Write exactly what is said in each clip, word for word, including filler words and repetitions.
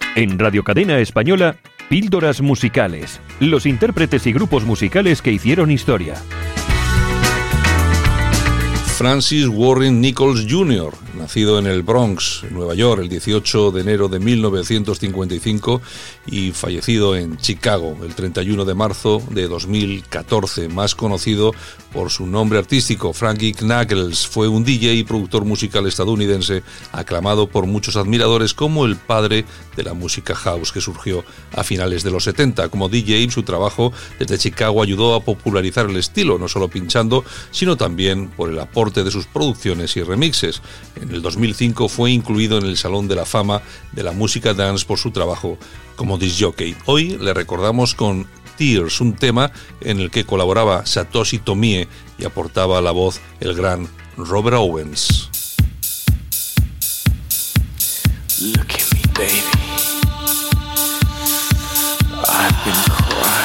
En Radio Cadena Española, Píldoras Musicales. Los intérpretes y grupos musicales que hicieron historia. Francis Warren Nichols junior, nacido en el Bronx, Nueva York, el dieciocho de enero de mil novecientos cincuenta y cinco y fallecido en Chicago el treinta y uno de marzo de dos mil catorce, más conocido por su nombre artístico, Frankie Knuckles. Fue un D J y productor musical estadounidense aclamado por muchos admiradores como el padre de la música house que surgió a finales de los setenta. Como D J, su trabajo desde Chicago ayudó a popularizar el estilo, no solo pinchando, sino también por el aporte de sus producciones y remixes. En el dos mil cinco fue incluido en el Salón de la Fama de la Música Dance por su trabajo como disc jockey. Hoy le recordamos con Tears, un tema en el que colaboraba Satoshi Tomie y aportaba la voz el gran Robert Owens. Look at me, baby. I've been crying.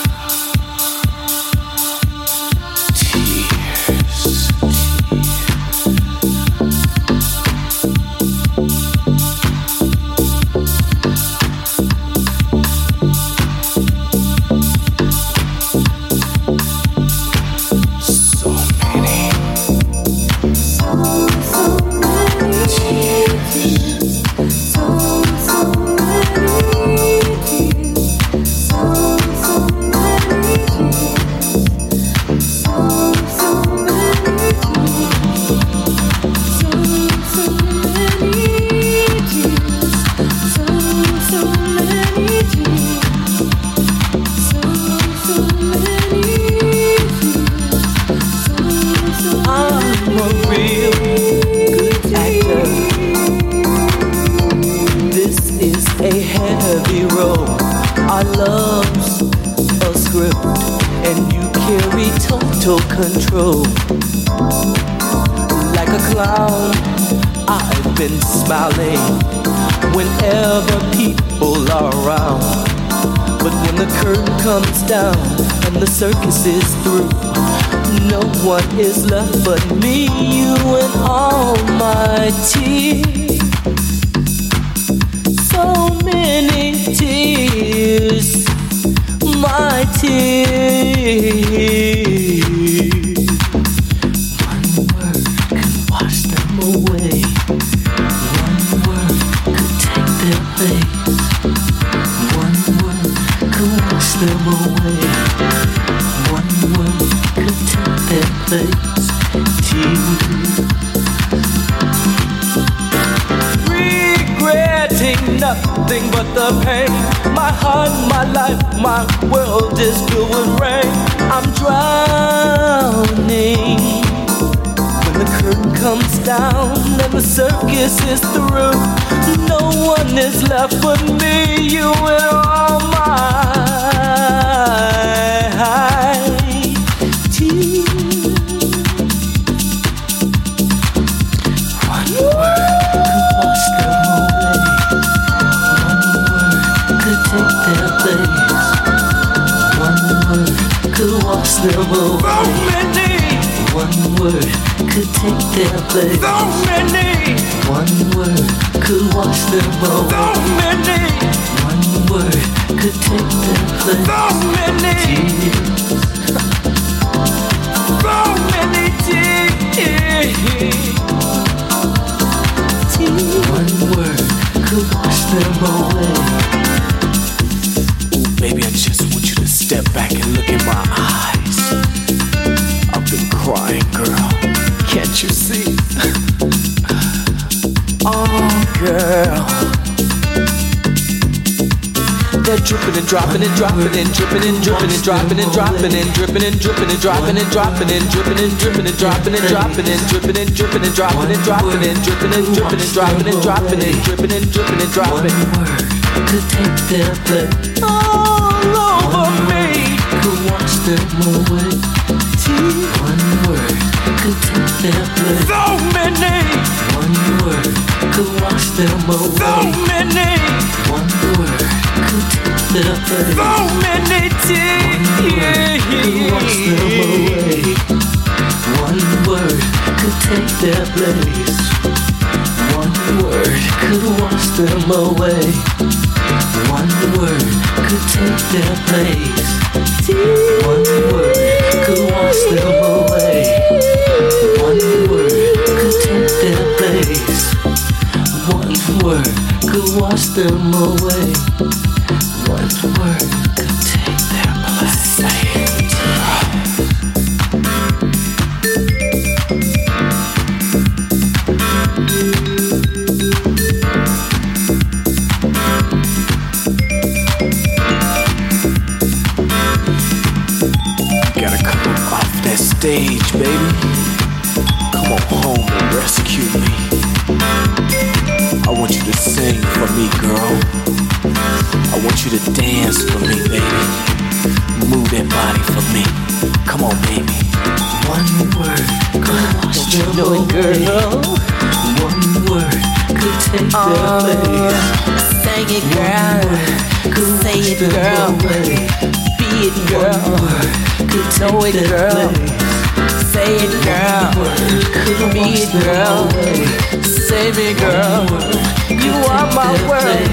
Control. Like a clown, I've been smiling whenever people are around. But when the curtain comes down and the circus is through, no one is left but me, you and all my tears. So many tears, my tears. Away. One word could take their place. One word could wash them away. One word could take their place. Tears. Regretting nothing but the pain. My heart, my life, my world is filled with rain. I'm drowning. The curtain comes down and the circus is through. No one is left but me, you and all my tears. One word could wash them away. One word could take their place. One word could wash them away. So many. One word could take their place. So many. One word could wash them away. So many. One word could take their place. So many tears. So many tears. Tears. One word could wash them away. Ooh, baby, I just want you to step back and look in my eyes. I've been crying, girl. Can't you see? Oh, girl. They're dripping and dropping and dropping and dripping and dripping and dropping and dropping and dripping and dripping and dropping and dropping and dripping and dripping and dropping and dropping and dripping and dripping and dropping and dropping and dripping and dripping and dropping and dropping and dripping and dripping and dropping. One word could take their place all over me. Could wash them away. One word could take their place. So many. One word could wash them away. So many. One word could take their place. So many tears could wash them away. One word could take their place. One One word could wash them away. One word could take their place. One word could wash them away. One word could take their place. One word could wash them away. One word could take their place. Stage, baby. Come on home and rescue me. I want you to sing for me, girl. I want you to dance for me, baby. Move that body for me. Come on, baby. One word could wash them away, girl. One word could take uh, their place. Say it, girl. Say it, girl. Be it, girl. Know it, girl. Say it, girl. Be it, girl. Say me, girl. You are my world.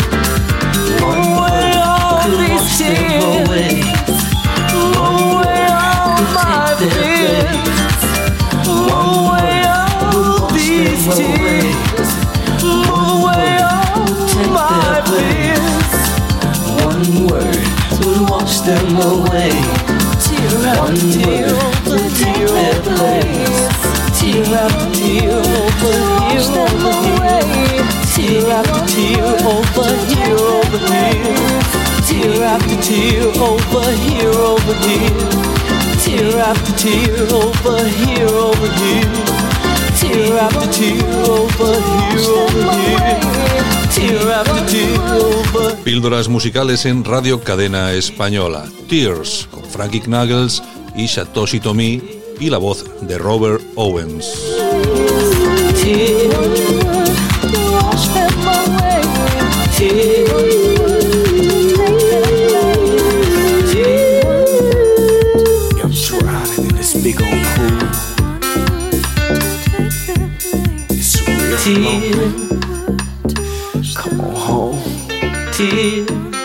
Away all these tears. Away all my fears. Away all these tears. Away all my fears. One word will wash them away. Tear after tear over tear over place. Tear after tear over here over here. Tear after tear over here over here. Tear after tear over here over here. Tear after tear over here over here. Tear after tear over here over here. Tear after tear over. Píldoras musicales en Radio Cadena Española. Tears, con Frankie Knuckles y Satoshi Tomiie, y la voz de Robert Owens. I'm drowning in this big old pool. It's real slow. Come on home. Tears.